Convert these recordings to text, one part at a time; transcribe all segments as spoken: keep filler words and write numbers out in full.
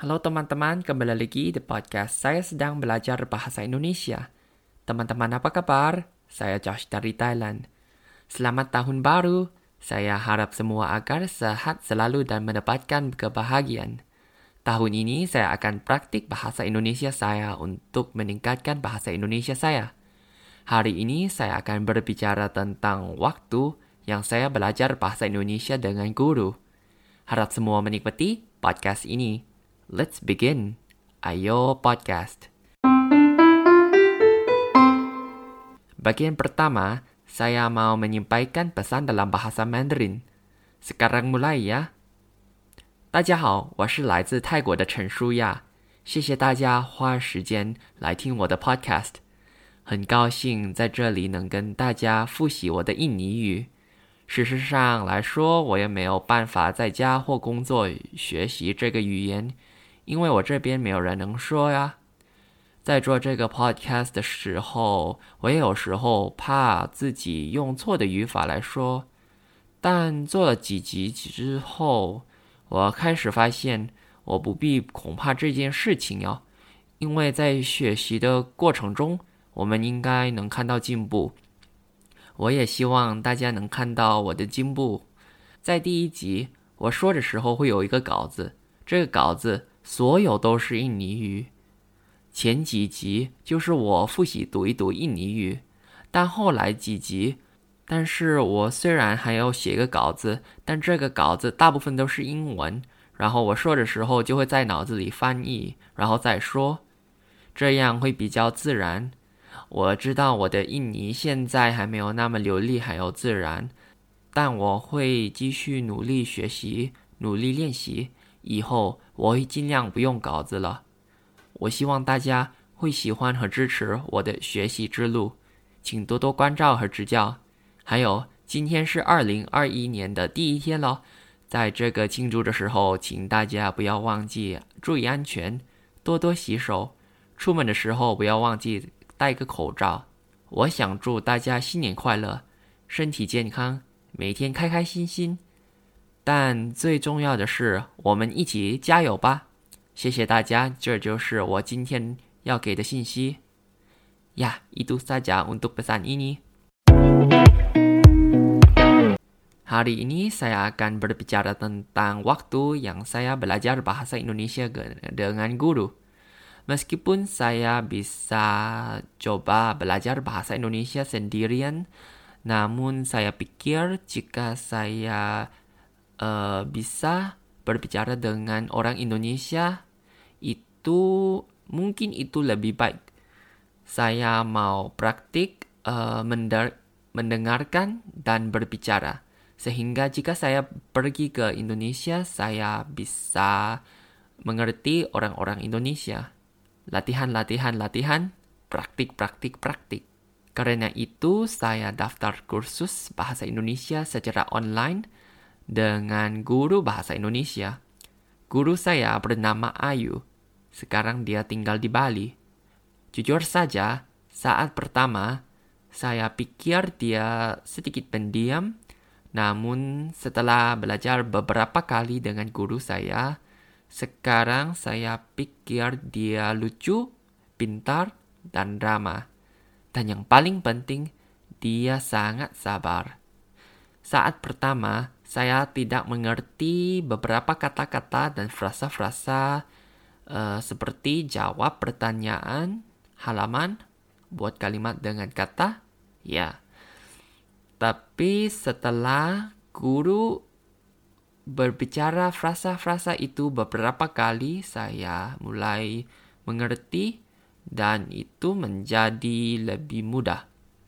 Halo teman-teman, kembali lagi di podcast Saya Sedang Belajar Bahasa Indonesia. Teman-teman apa kabar? Saya Josh dari Thailand. Selamat tahun baru. Saya harap semua agar sehat selalu dan mendapatkan kebahagiaan. Tahun ini saya akan praktik bahasa Indonesia saya untuk meningkatkan bahasa Indonesia saya. Hari ini saya akan berbicara tentang waktu yang saya belajar bahasa Indonesia dengan guru. Harap semua menikmati podcast ini. Let's begin. Ayo podcast. Bagian pertama, saya mau menyampaikan pesan dalam bahasa Mandarin. Sekarang mulai ya. 大家好，我是来自泰国的陈舒亚，谢谢大家花时间来听我的 podcast。很高兴在这里能跟大家复习我的印尼语。事实上来说，我也没有办法在家或工作学习这个语言。因为我这边没有人能说呀。在做这个 podcast 的时候，我也有时候怕自己用错的语法来说，但做了几集之后，我开始发现我不必恐怕这件事情哟，因为在学习的过程中，我们应该能看到进步。我也希望大家能看到我的进步。在第一集我说的时候会有一个稿子，这个稿子所有都是印尼语，前几集就是我复习读一读印尼语，但后来几集，但是我虽然还要写个稿子，但这个稿子大部分都是英文，然后我说的时候就会在脑子里翻译，然后再说，这样会比较自然。我知道我的印尼现在还没有那么流利还有自然，但我会继续努力学习，努力练习。以后我会尽量不用稿子了。我希望大家会喜欢和支持我的学习之路，请多多关照和指教。还有，今天是二零二一年的第一天了，在这个庆祝的时候，请大家不要忘记注意安全，多多洗手，出门的时候不要忘记戴个口罩。我想祝大家新年快乐，身体健康，每天开开心心。但最重要的是，我们一起加油吧！谢谢大家，这就是我今天要给的信息。Ya, itu saja untuk pesan ini. Hari ini saya akan berbicara tentang waktu yang saya belajar bahasa Indonesia dengan guru. Meskipun saya bisa coba belajar bahasa Indonesia sendirian, namun saya pikir jika saya Uh, bisa berbicara dengan orang Indonesia itu mungkin itu lebih baik. Saya mau praktik uh, mender- mendengarkan dan berbicara sehingga jika saya pergi ke Indonesia saya bisa mengerti orang-orang Indonesia. Latihan, latihan, latihan, praktik, praktik, praktik. Karena itu saya daftar kursus bahasa Indonesia secara online dengan guru bahasa Indonesia. Guru saya bernama Ayu. Sekarang dia tinggal di Bali. Jujur saja, saat pertama saya pikir dia sedikit pendiam, namun setelah belajar beberapa kali dengan guru saya, sekarang saya pikir dia lucu, pintar, dan ramah. Dan yang paling penting, dia sangat sabar. Saat pertama, saya tidak mengerti beberapa kata-kata dan frasa-frasa uh, seperti jawab pertanyaan, halaman, buat kalimat dengan kata, ya. Tapi setelah guru berbicara frasa-frasa itu beberapa kali, saya mulai mengerti dan itu menjadi lebih mudah.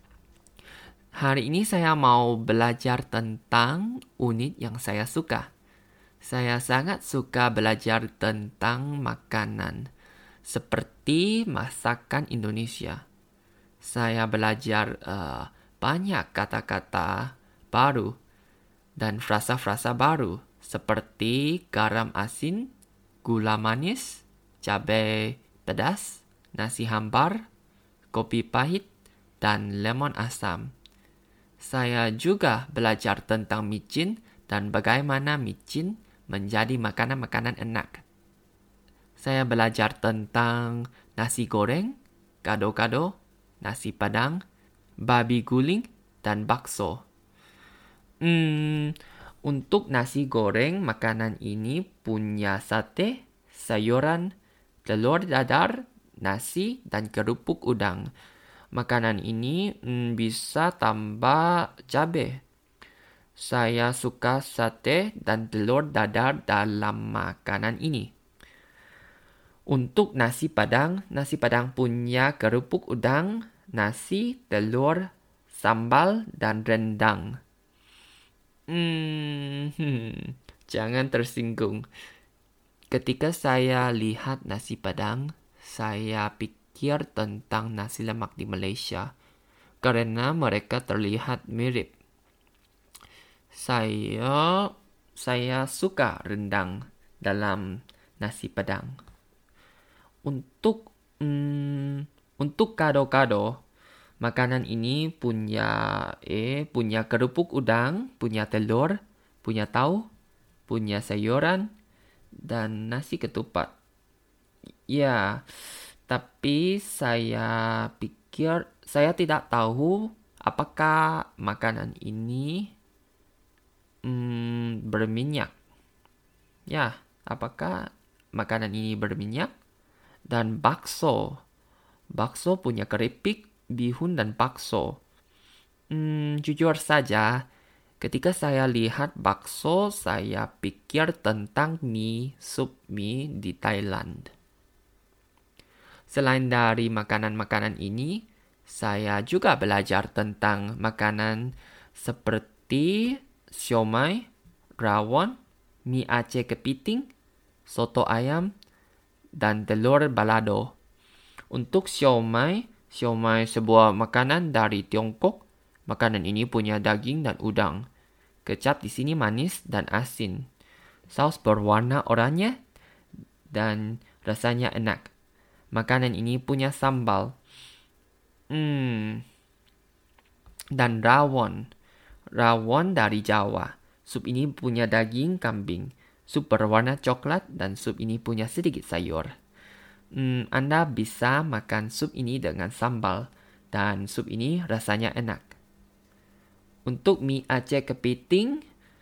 Hari ini saya mau belajar tentang unit yang saya suka. Saya sangat suka belajar tentang makanan, seperti masakan Indonesia. Saya belajar uh, banyak kata-kata baru dan frasa-frasa baru, seperti garam asin, gula manis, cabai pedas, nasi hambar, kopi pahit, dan lemon asam. Saya juga belajar tentang micin dan bagaimana micin menjadi makanan-makanan enak. saya belajar tentang nasi goreng, gado-gado, nasi padang, babi guling, dan bakso. Hmm, untuk nasi goreng, makanan ini punya sate, sayuran, telur dadar, nasi, dan kerupuk udang. Makanan ini hmm, bisa tambah cabai. Saya suka sate dan telur dadar dalam makanan ini. Untuk nasi padang, nasi padang punya kerupuk udang, nasi, telur, sambal, dan rendang. Hmm, hmm, jangan tersinggung. Ketika saya lihat nasi padang, saya pikir tentang nasi lemak di Malaysia karena mereka terlihat mirip. Saya saya suka rendang dalam nasi padang. Untuk hmm, untuk gado-gado, makanan ini punya eh punya kerupuk udang, punya telur, punya tahu, punya sayuran, dan nasi ketupat. Ya, tapi saya pikir saya tidak tahu apakah makanan ini hmm, berminyak. Ya, apakah makanan ini berminyak? Dan bakso. Bakso punya keripik, bihun, dan bakso. Hmm, jujur saja, ketika saya lihat bakso, saya pikir tentang mie, sup mie di Thailand. Selain dari makanan-makanan ini, saya juga belajar tentang makanan seperti siomay, rawon, mie Aceh kepiting, soto ayam, dan telur balado. Untuk siomay, siomay sebuah makanan dari Tiongkok. Makanan ini punya daging dan udang. Kecap di sini manis dan asin. Saus berwarna oranye dan rasanya enak. Makanan ini punya sambal. Hmm. Dan rawon. Rawon dari Jawa. Sup ini punya daging kambing. Sup berwarna coklat dan sup ini punya sedikit sayur. Hmm, Anda bisa makan sup ini dengan sambal dan sup ini rasanya enak. Untuk mie Aceh kepiting,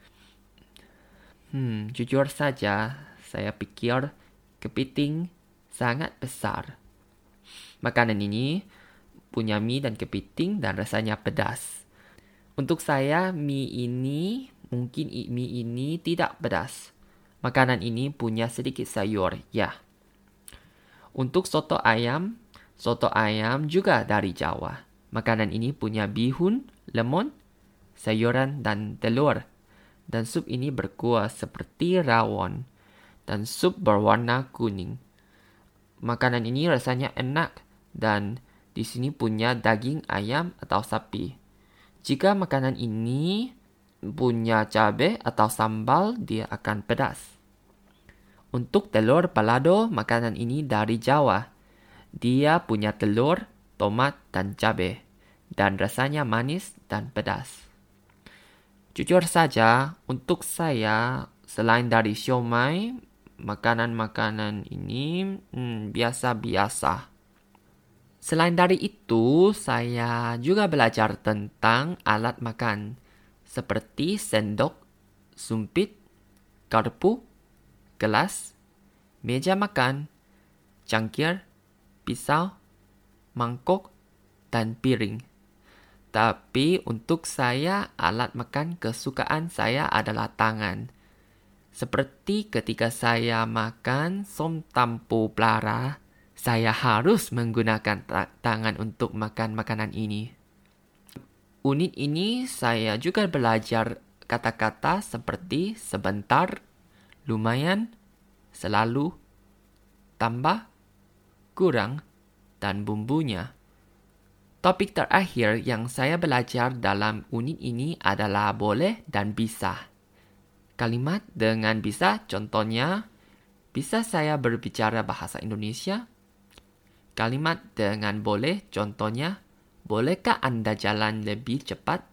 hmm, jujur saja saya pikir kepiting sangat besar. Makanan ini punya mie dan kepiting dan rasanya pedas. Untuk saya mie ini mungkin mie ini tidak pedas. Makanan ini punya sedikit sayur, ya. Untuk soto ayam, soto ayam juga dari Jawa. Makanan ini punya bihun, lemon, sayuran, dan telur. Dan sup ini berkuah seperti rawon. Dan sup berwarna kuning. Makanan ini rasanya enak dan di sini punya daging ayam atau sapi. Jika makanan ini punya cabai atau sambal, dia akan pedas. Untuk telur balado, makanan ini dari Jawa. Dia punya telur, tomat, dan cabai. Dan rasanya manis dan pedas. Jujur saja, untuk saya, selain dari siomay, makanan-makanan ini hmm, biasa-biasa. Selain dari itu, saya juga belajar tentang alat makan. Seperti sendok, sumpit, garpu, gelas, meja makan, cangkir, pisau, mangkok, dan piring. Tapi untuk saya, alat makan kesukaan saya adalah tangan. Seperti ketika saya makan som tampu pelara, saya harus menggunakan ta- tangan untuk makan makanan ini. Unit ini saya juga belajar kata-kata seperti sebentar, lumayan, selalu, tambah, kurang, dan bumbunya. Topik terakhir yang saya belajar dalam unit ini adalah boleh dan bisa. Kalimat dengan bisa, contohnya, bisa saya berbicara bahasa Indonesia? Kalimat dengan boleh, contohnya, bolehkah Anda jalan lebih cepat?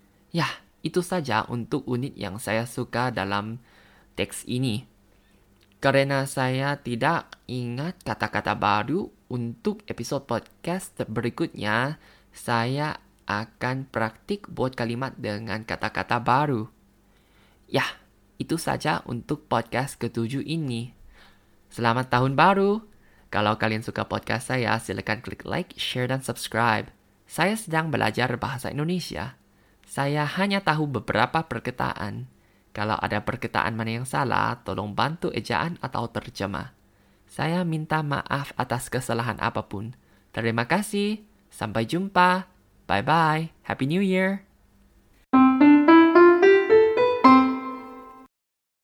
Ya, itu saja untuk unit yang saya suka dalam teks ini. Karena saya tidak ingat kata-kata baru untuk episode podcast berikutnya, saya akan praktik buat kalimat dengan kata-kata baru. Ya, itu saja untuk podcast ketujuh ini. Selamat tahun baru! Kalau kalian suka podcast saya, silakan klik like, share, dan subscribe. Saya sedang belajar bahasa Indonesia. Saya hanya tahu beberapa perkataan. Kalau ada perkataan mana yang salah, tolong bantu ejaan atau terjemah. Saya minta maaf atas kesalahan apapun. Terima kasih. Sampai jumpa. Bye-bye. Happy New Year.